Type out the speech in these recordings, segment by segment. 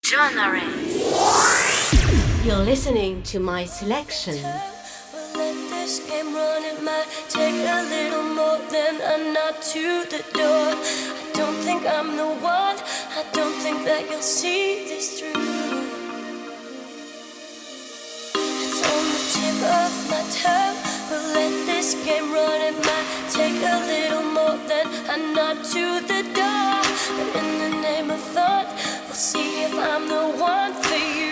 You're listening to my selection. We'll let this game run. It might take a little more than a nod to the door. I don't think I'm the one. I don't think that you'll see this through. It's on the tip of my tongue. We'll let this game run. It might take a little more than a nod to the door. But in the name of thought, we'll see if I'm the one for you.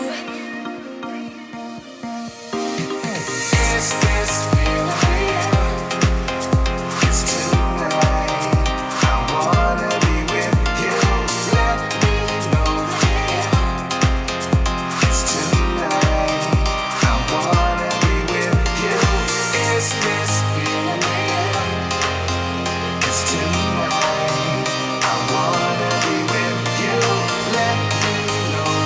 Is this feeling real? It's tonight. I wanna be with you. Let me know it's tonight. I wanna be with you. Is this feeling real? It's tonight. I wanna be with you. Let me know.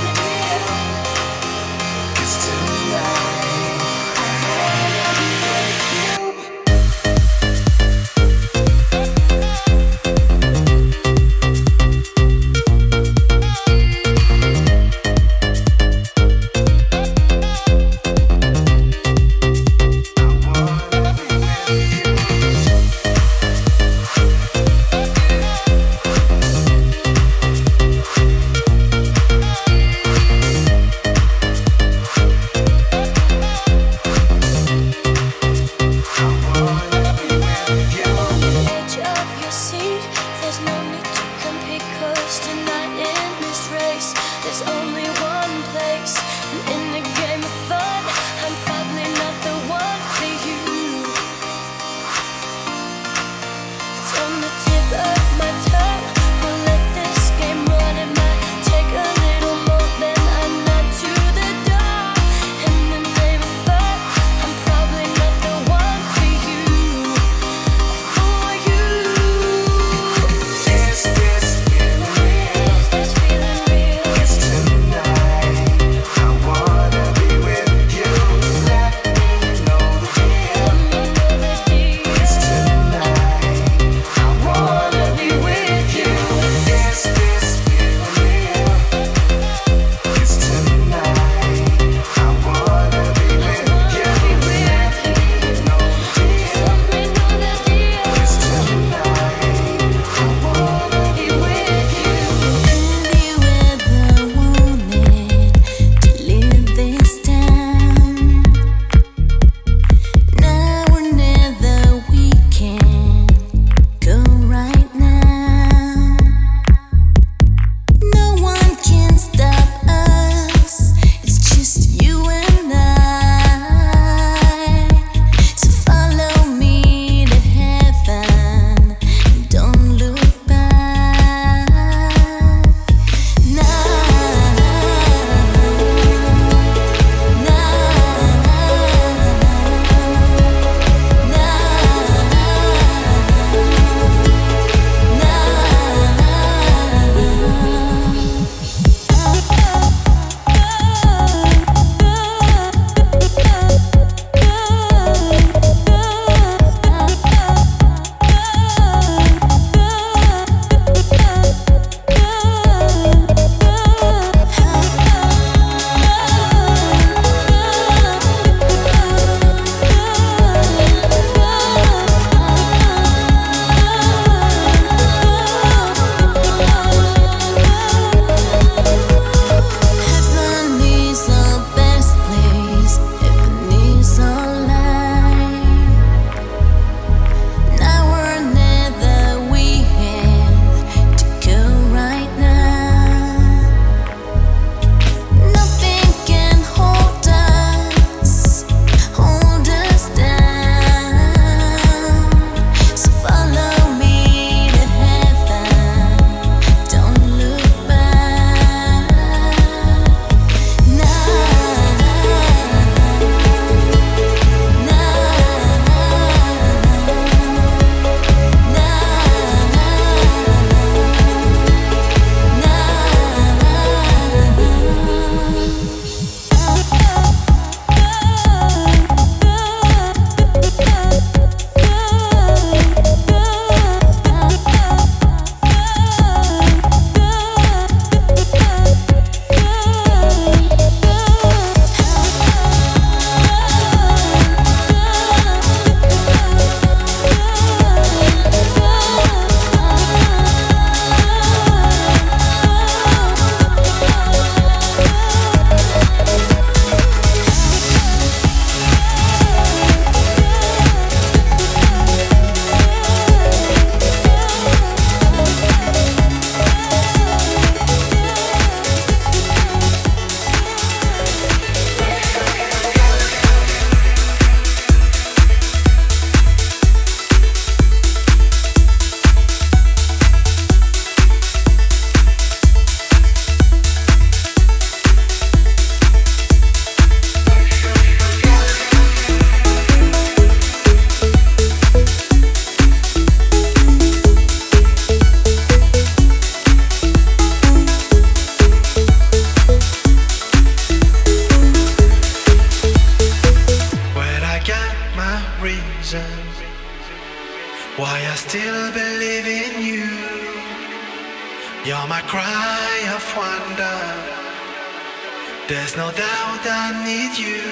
You're my cry of wonder. There's no doubt I need you.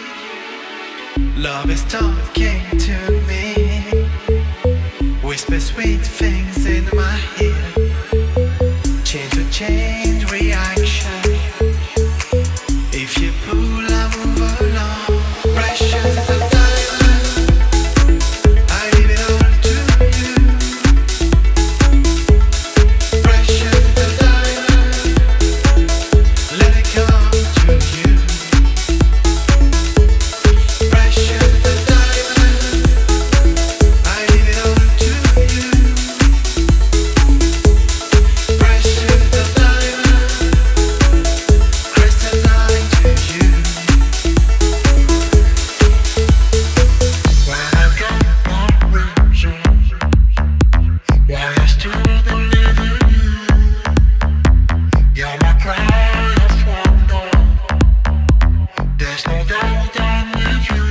Love is talking to me. Whisper sweet things in my ear. Change to change reaction. If you pull, I move along. Precious is a diamond. I leave it all to you. Precious is a diamond. Let it come to you. Precious is a diamond. I leave it all to you. Precious is a diamond. Crystalline to you. When I got my reason why I still believe in you. You're my cry of wonder. There's no doubt I need you.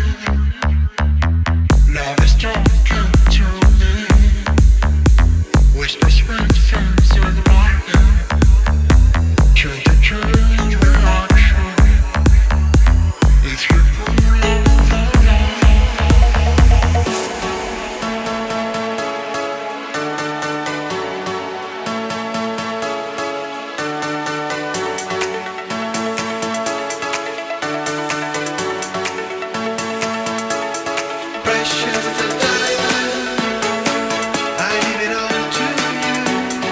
Love is talking to me. Whisper sweet things in my ear. Change to change reaction. If you pull over precious is a diamond. I leave it all to you.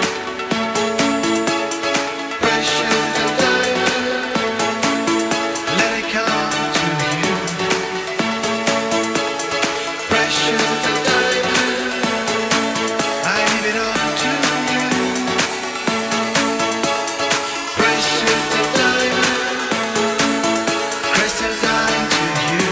Precious is a diamond. Let it come to you. Precious is a diamond. I leave it all to you. Precious is a diamond. Crystalline to you.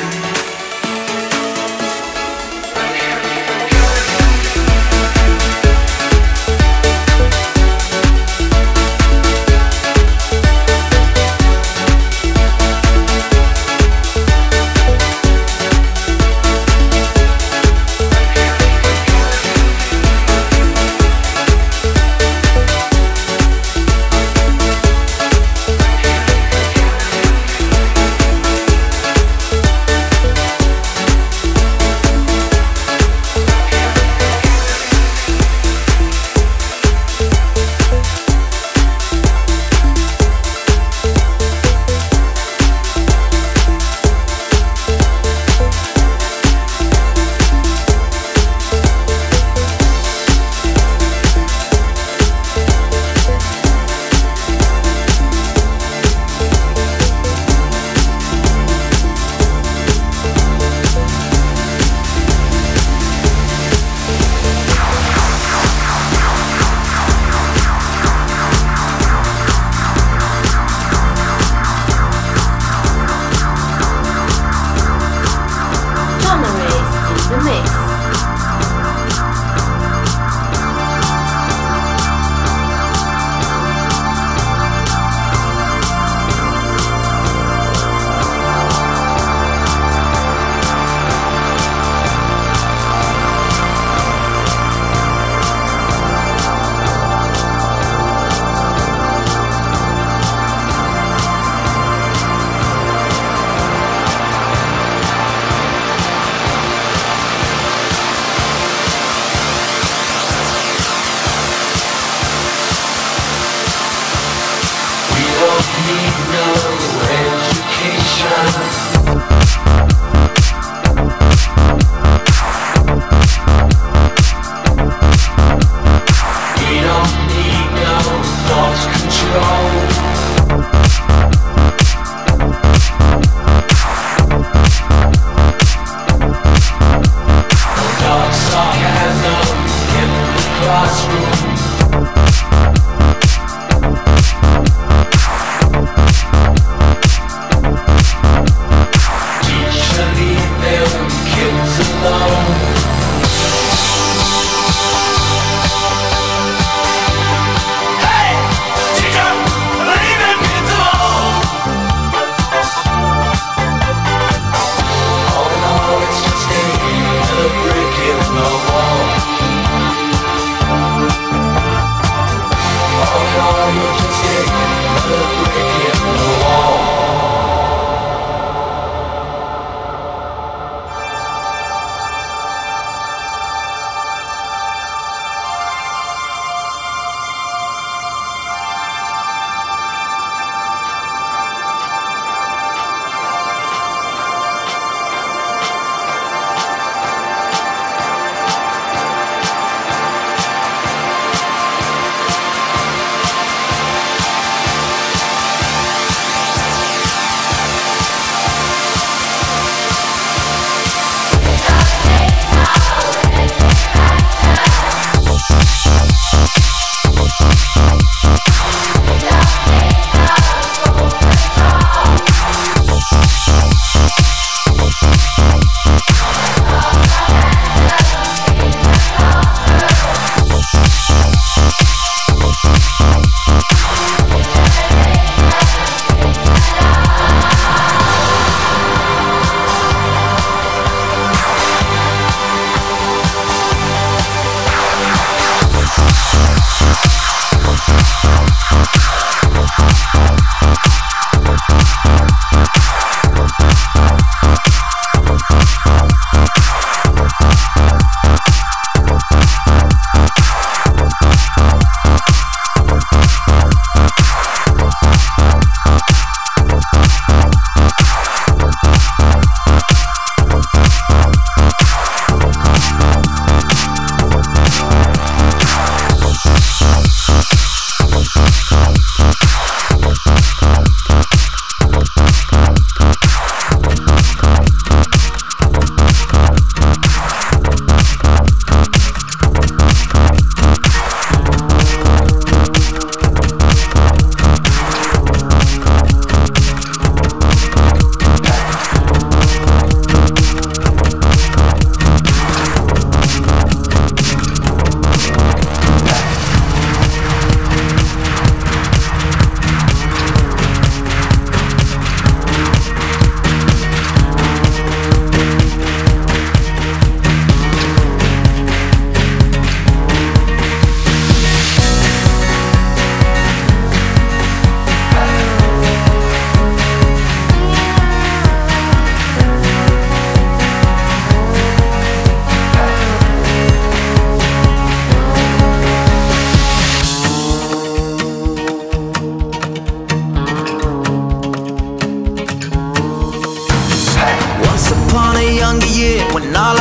Tomaris in the mix. Classroom.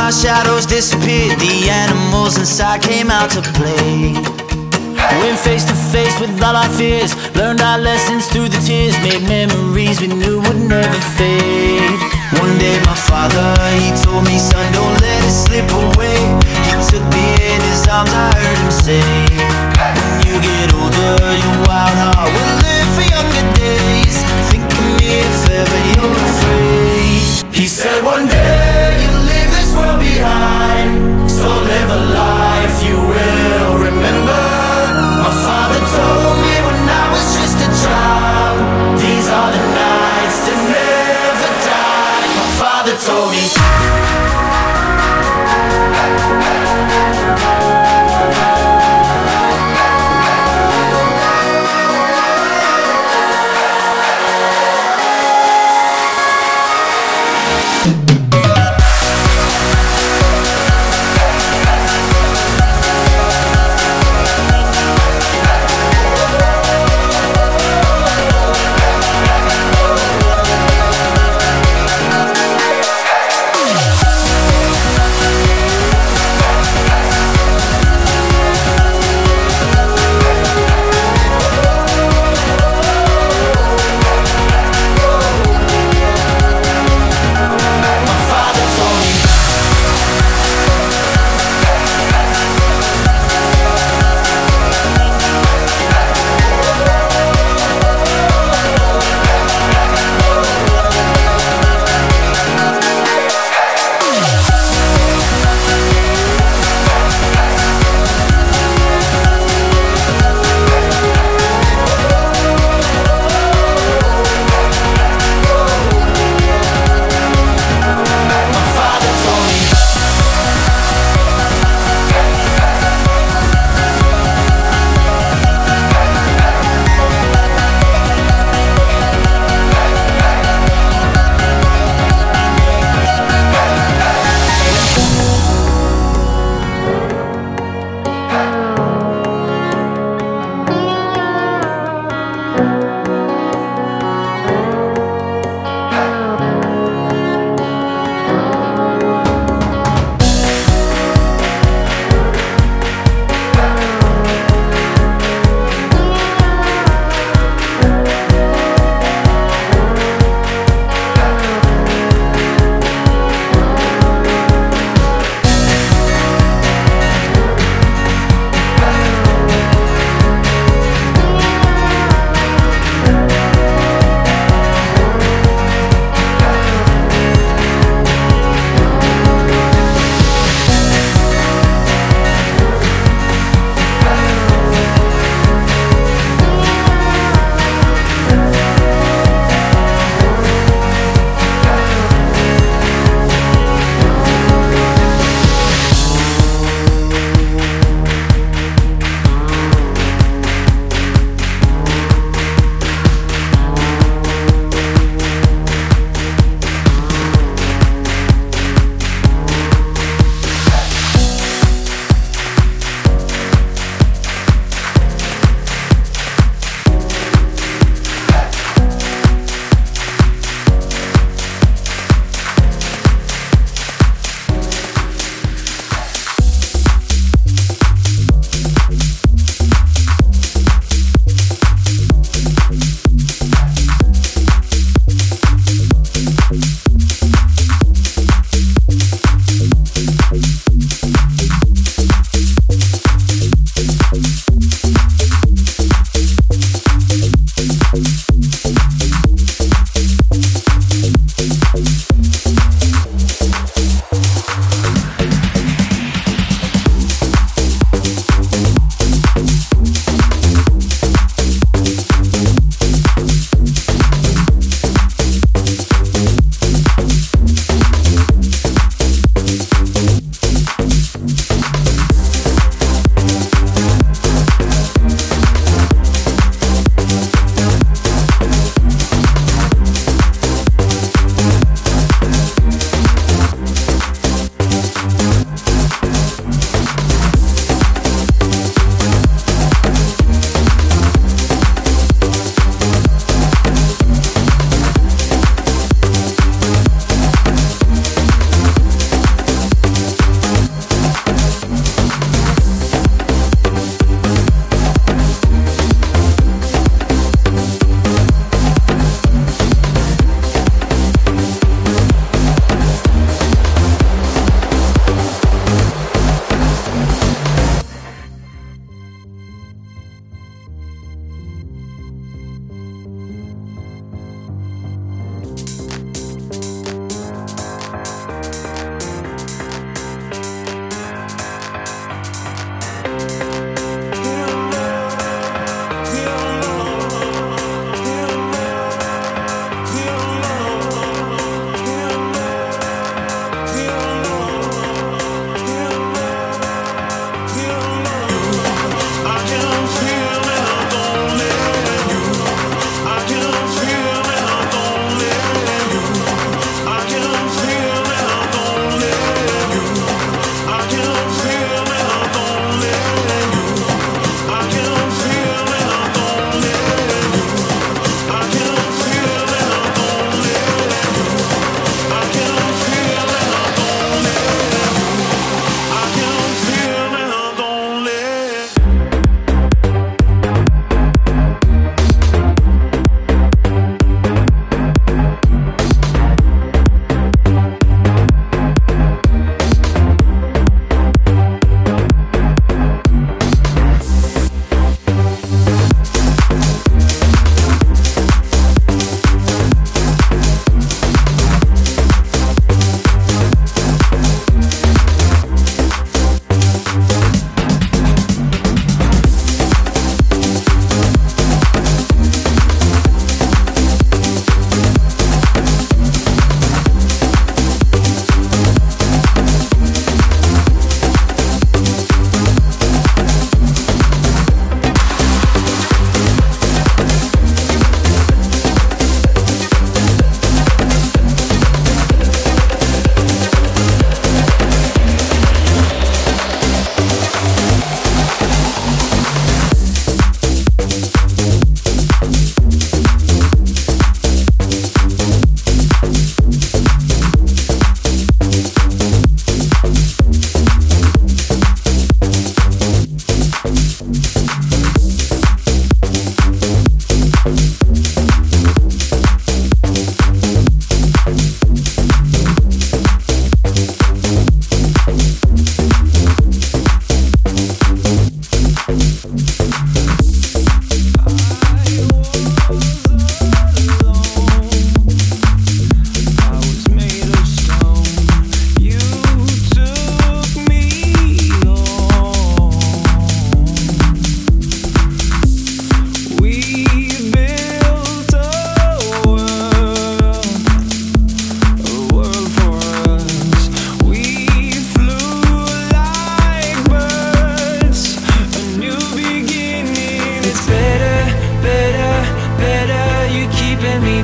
our shadows disappeared, the animals inside came out to play. Went face to face with all our fears, learned our lessons through the tears, made memories we knew would never fade. One day my father, he told me, son, don't let it slip away. He took me in his arms, I heard him say, when you get older, your wild heart will live for younger days. Think of me if ever you're afraid. He said one day you'll leave this world behind, so live a life you will remember. My father told me when I was just a child, these are the nights that never die. My father told me.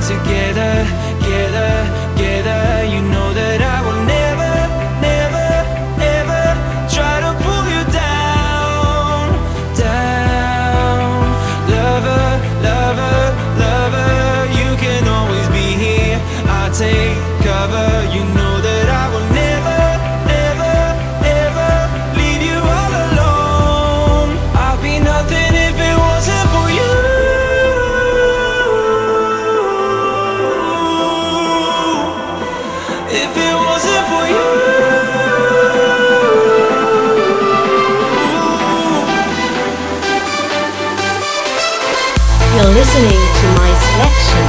together, together, together. You know that I will never, never, ever try to pull you down, down. Lover, lover, lover, you can always be here. I'll take cover. You know that I will never, never, ever leave you all alone. I'll be nothing if it wasn't for you. If it wasn't for you. You're listening to my selection.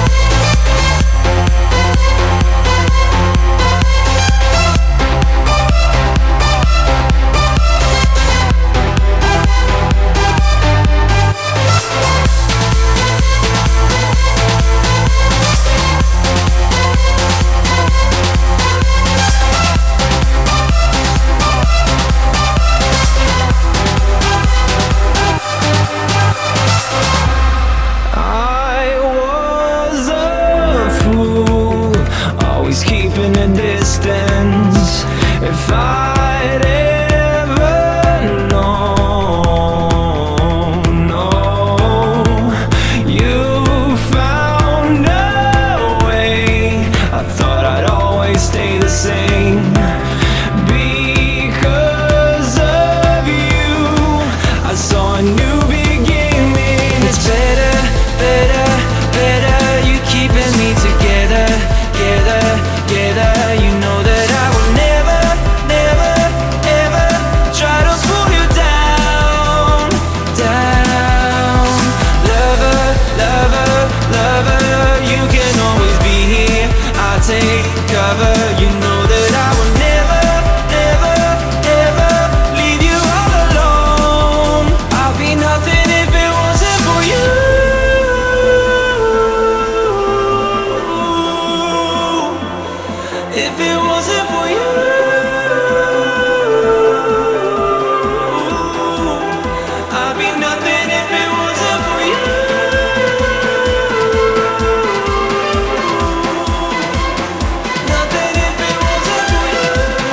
Keeping a distance. If I'd ever known, no, you found a way. I thought I'd always stay the same. Because of you, I saw a new beginning. It's better, better, better. You keeping me together, together, together. You know that I will never, never, ever try to pull you down, down. Lover, lover, lover, you can always be here. I'll take cover. You know that I will never, never, ever leave you all alone. I'll be nothing if it wasn't for you. If it wasn't for you, I'd be nothing if it wasn't for you. Nothing if it wasn't for you.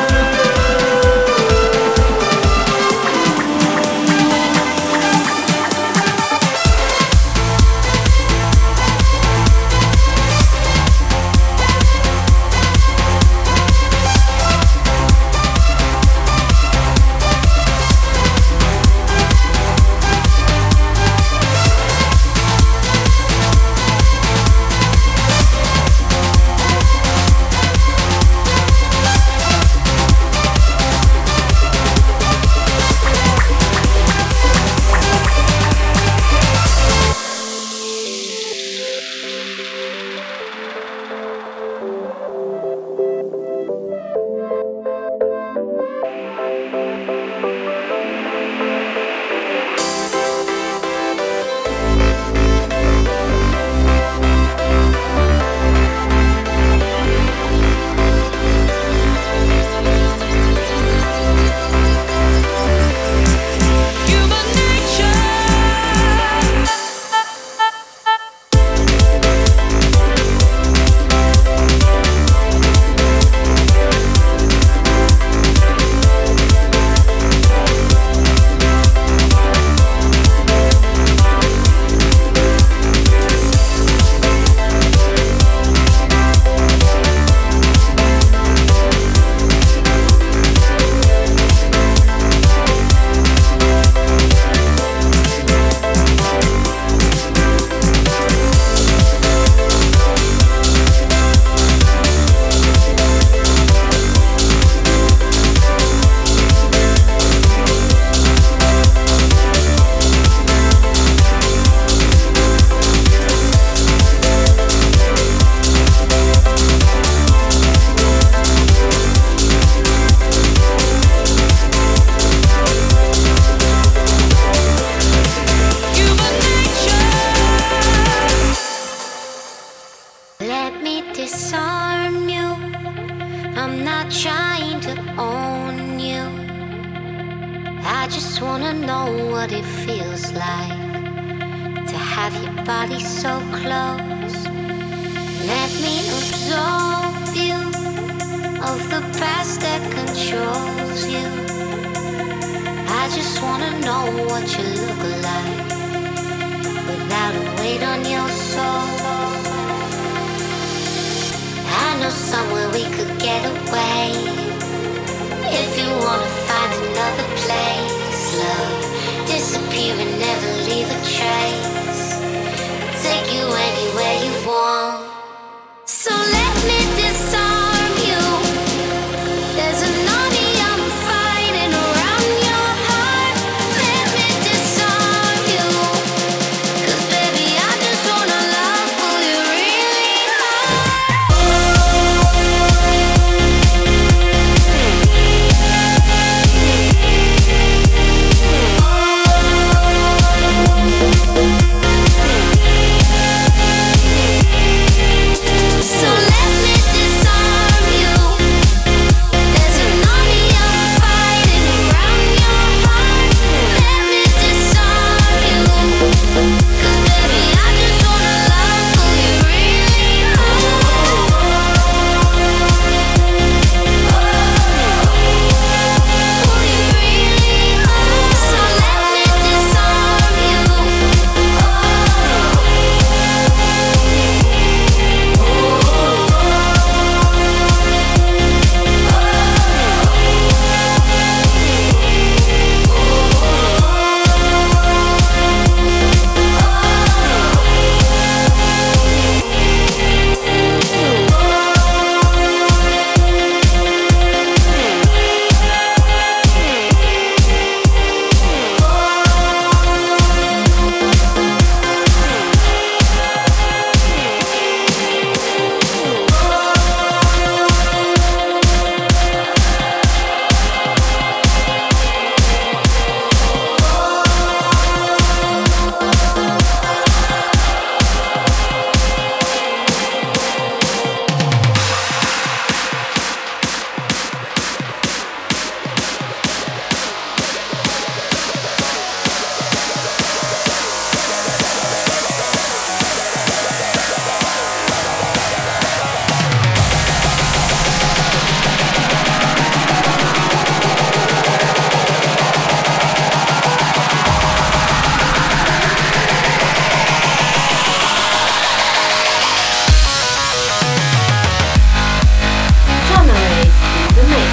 just wanna know what it feels like to have your body so close. Let me absolve you of the past that controls you. I just wanna know what you look like without a weight on your soul. I know somewhere we could get away. If you wanna find another place, love, disappear and never leave a trace. Take you anywhere you want. So let me disarm you. There's an army I'm fighting around your heart. Let me disarm you. 'Cause baby, I just wanna love who you really So let me disarm you. There's an army I'm fighting around your heart. Let me disarm you. 'Cause baby, I just wanna love who you really are. Who you really are. So let me disarm you. Hammer's in the mix.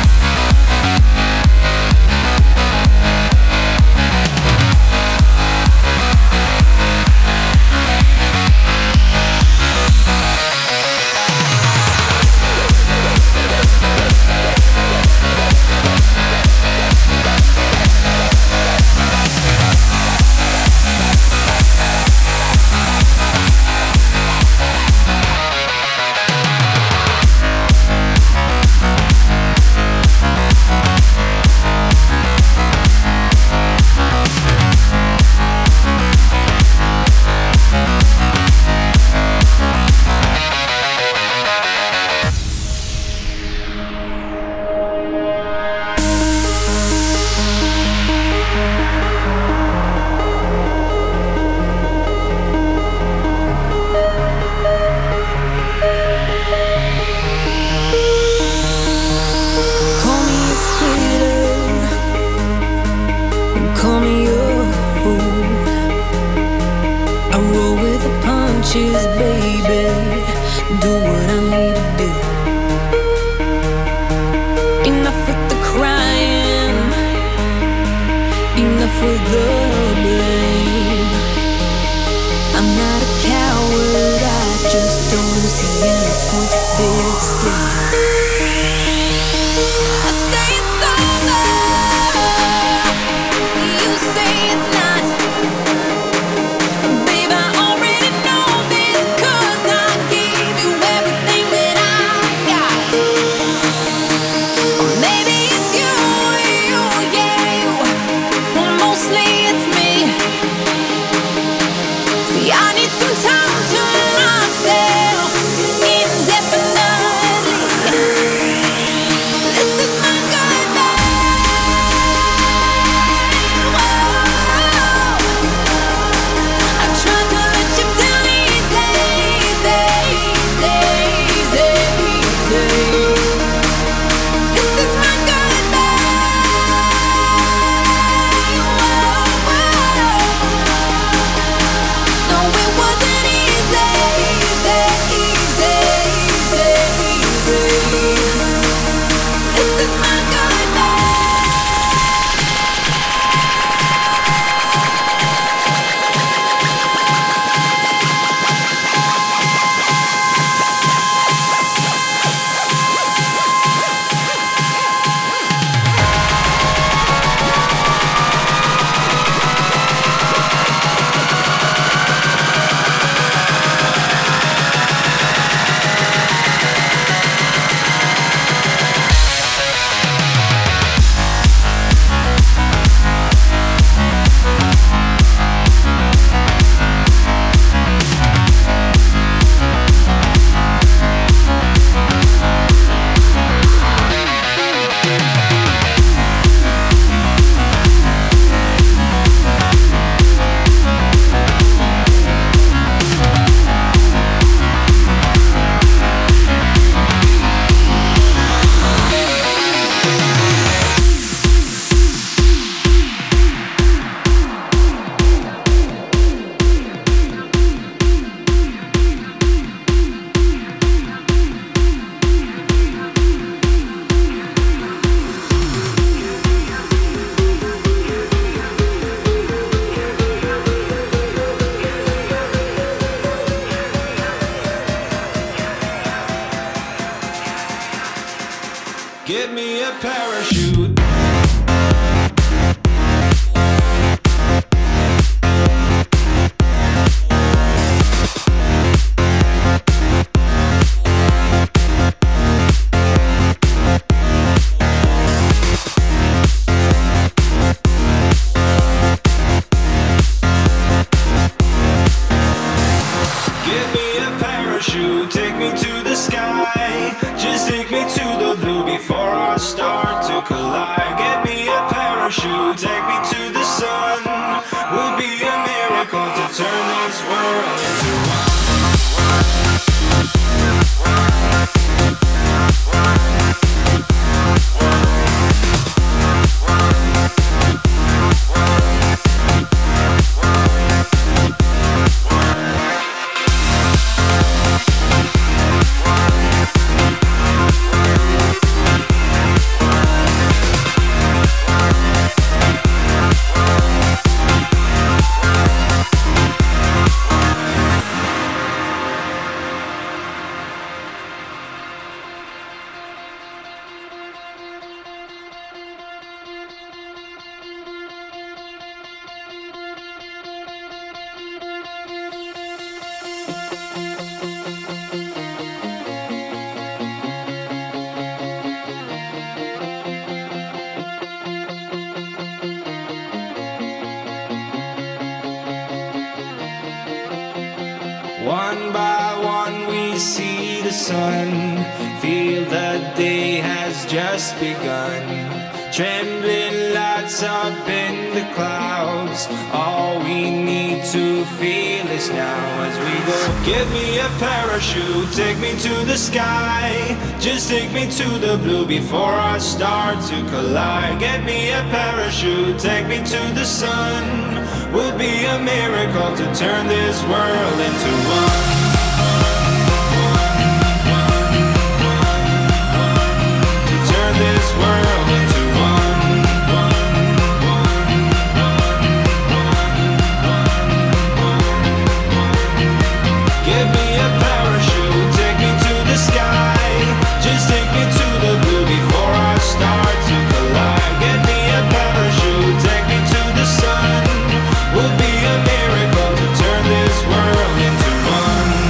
Call me a quitter and call me a fool. I roll with the punches, baby. Do what I need to do. Enough with the crying, enough with the blame. I'm not a coward, I just don't see any point to this game. I say it's over. You say it's not. Babe, I already know this 'cause I gave you everything that I got. Or maybe it's you, yeah, you. Well, mostly it's me. See, I need some time to myself indefinitely. Give me a parachute. Give me a parachute, take me to the sky. Just take me to the blue before our start to collide. Get me a parachute, take me to the sun. Would be a miracle to turn this world into one. One by one we see the sun, feel the day has just begun. Trembling lights up in the clouds, all we need to feel is now as we go. Give me a parachute, take me to the sky. Just take me to the blue before I start to collide. Get me a parachute, take me to the sun. Would be a miracle to turn this world into one. To turn this world into one. Give me a parachute, take me to the sky. Just take me to the blue before I start to collide. Get me a parachute, take me to the sun. Would be a miracle to turn this world into one.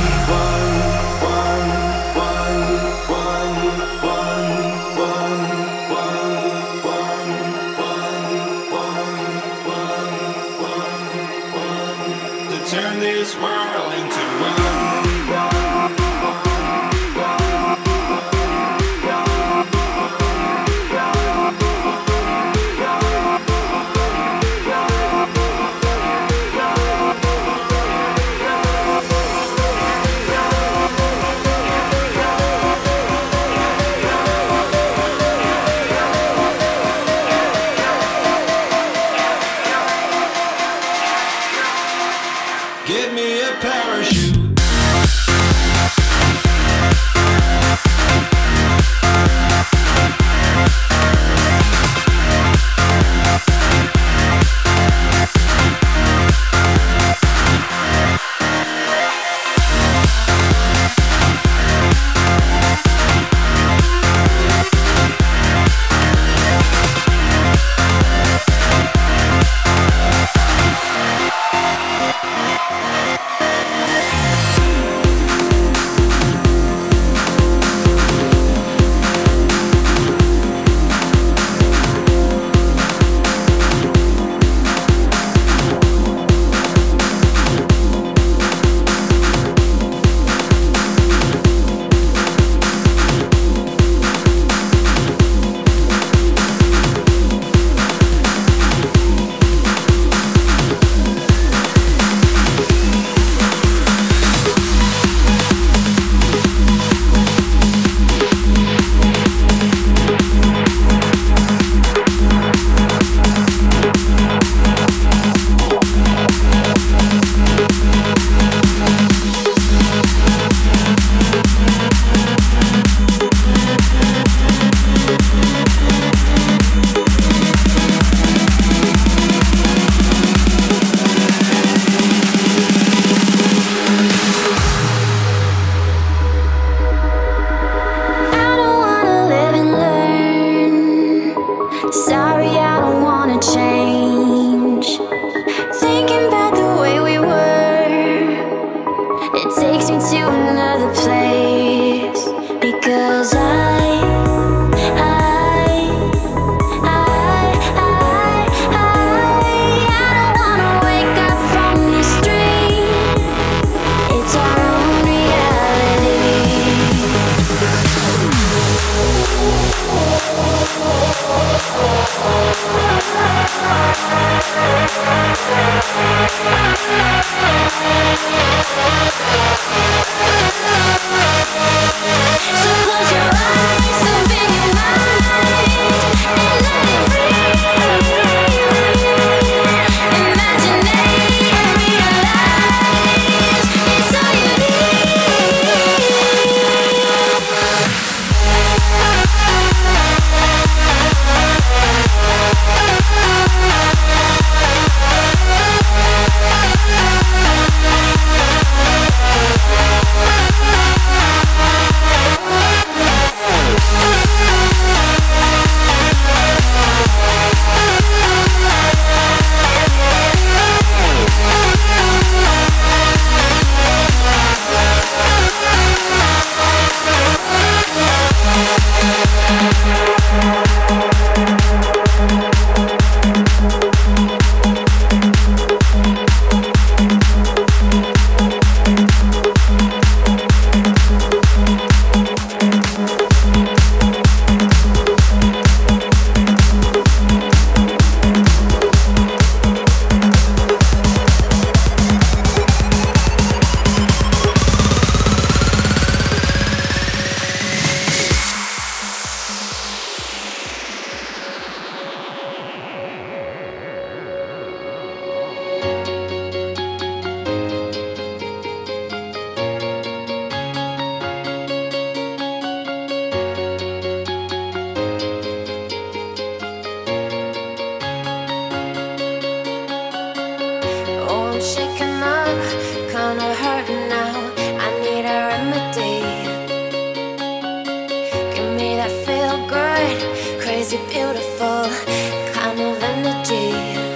good, crazy beautiful kind of energy.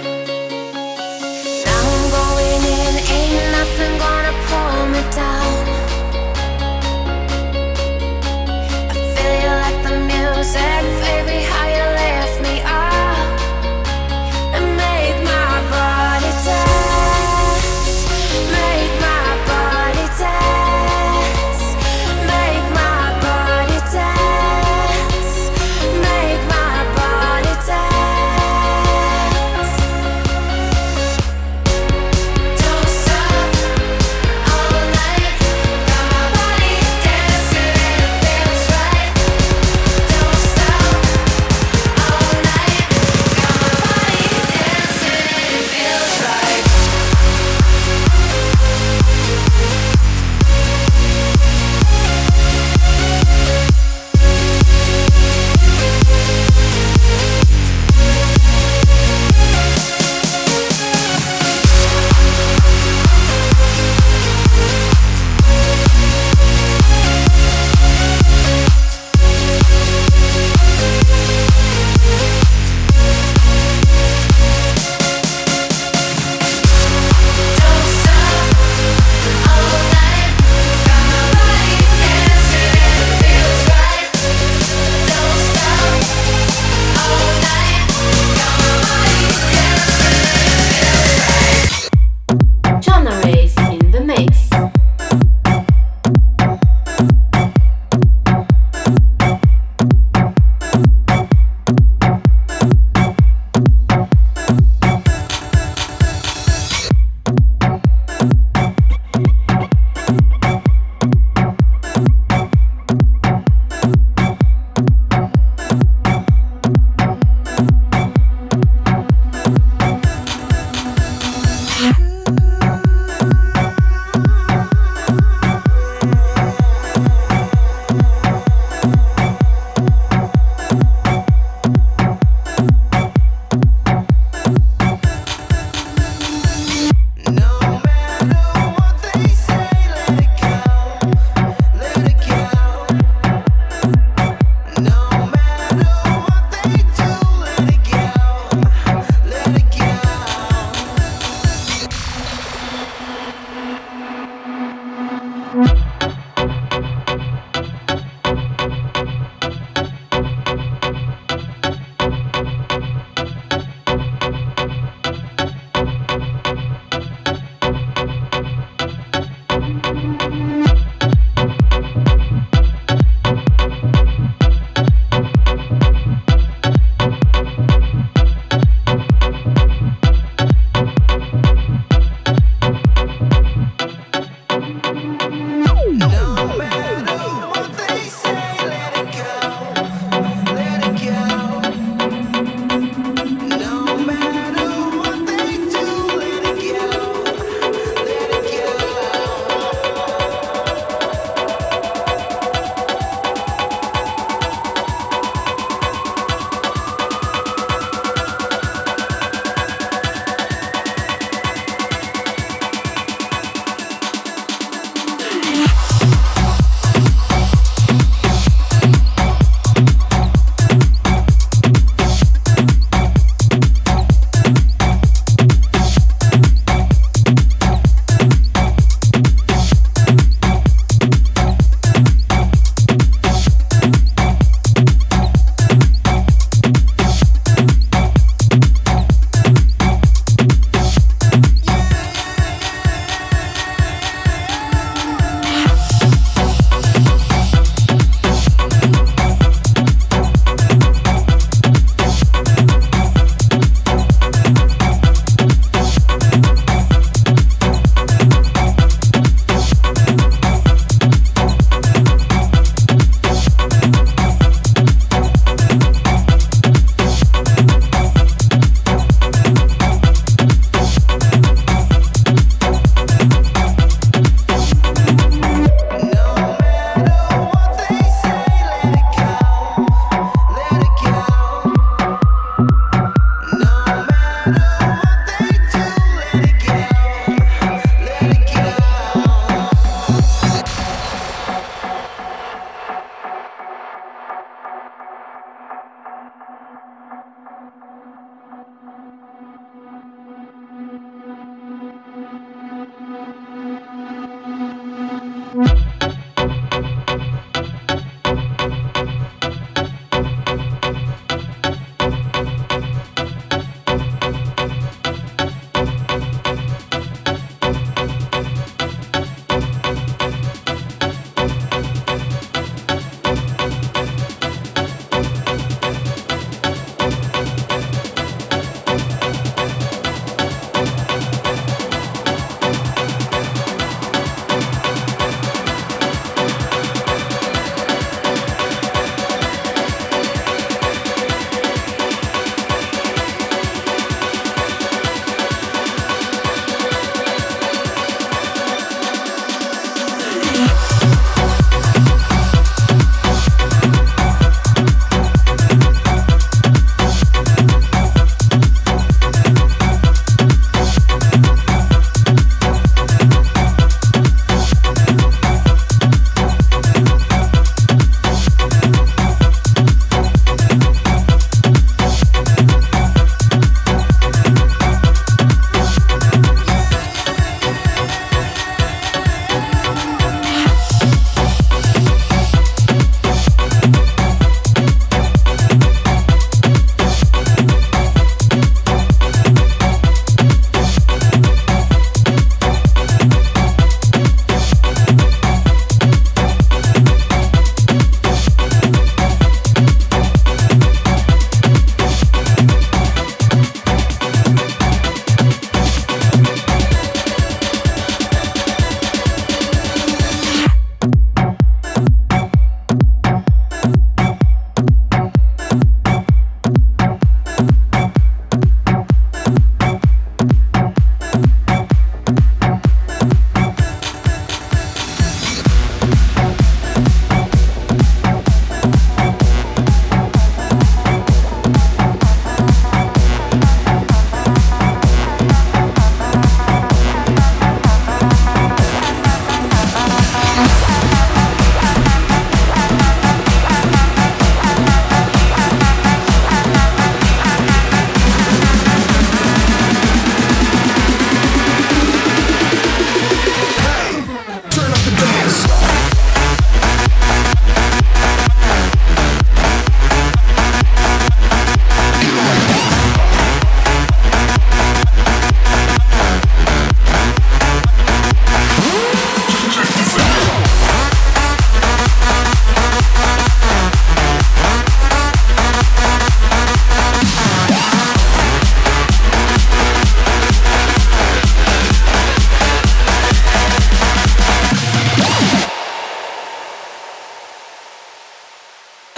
Now I'm going in, ain't nothing gonna pull me down. I feel you like the music, baby, how you lift me up and make my body dance, make my body dance, make my body dance, make my body dance.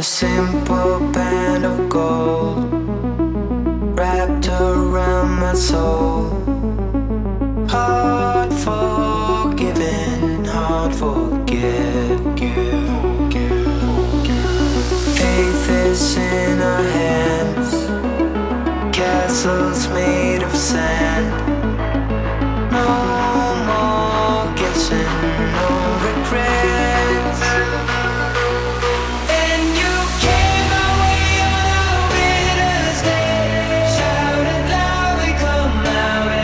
a simple band of gold wrapped around my soul. Hard forgiven, hard forget. Faith is in our hands, castles made of sand. No more guessing, no regrets. And you came my way on a winter's day, shouted loud, we come out.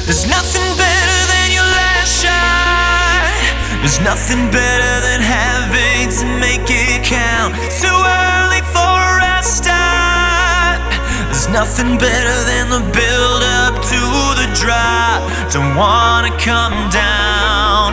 There's nothing better than your last shot. There's nothing better than having to make it count. Too early for a start. There's nothing better than the build up to the drop. Don't wanna come down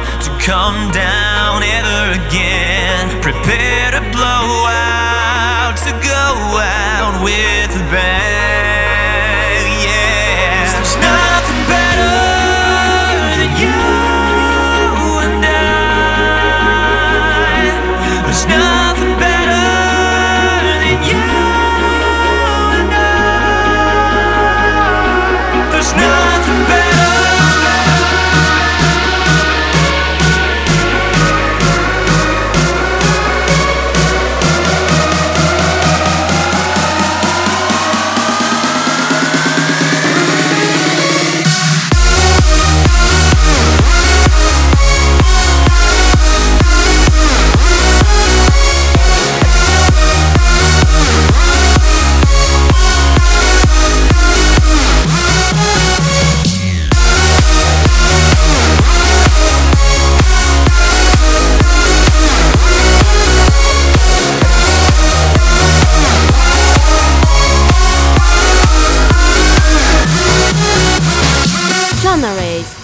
ever again. Prepare to blow out, to go out with a bang. Yeah, there's nothing better than you and I. There's nothing better than you and I. There's nothing better. Genre Race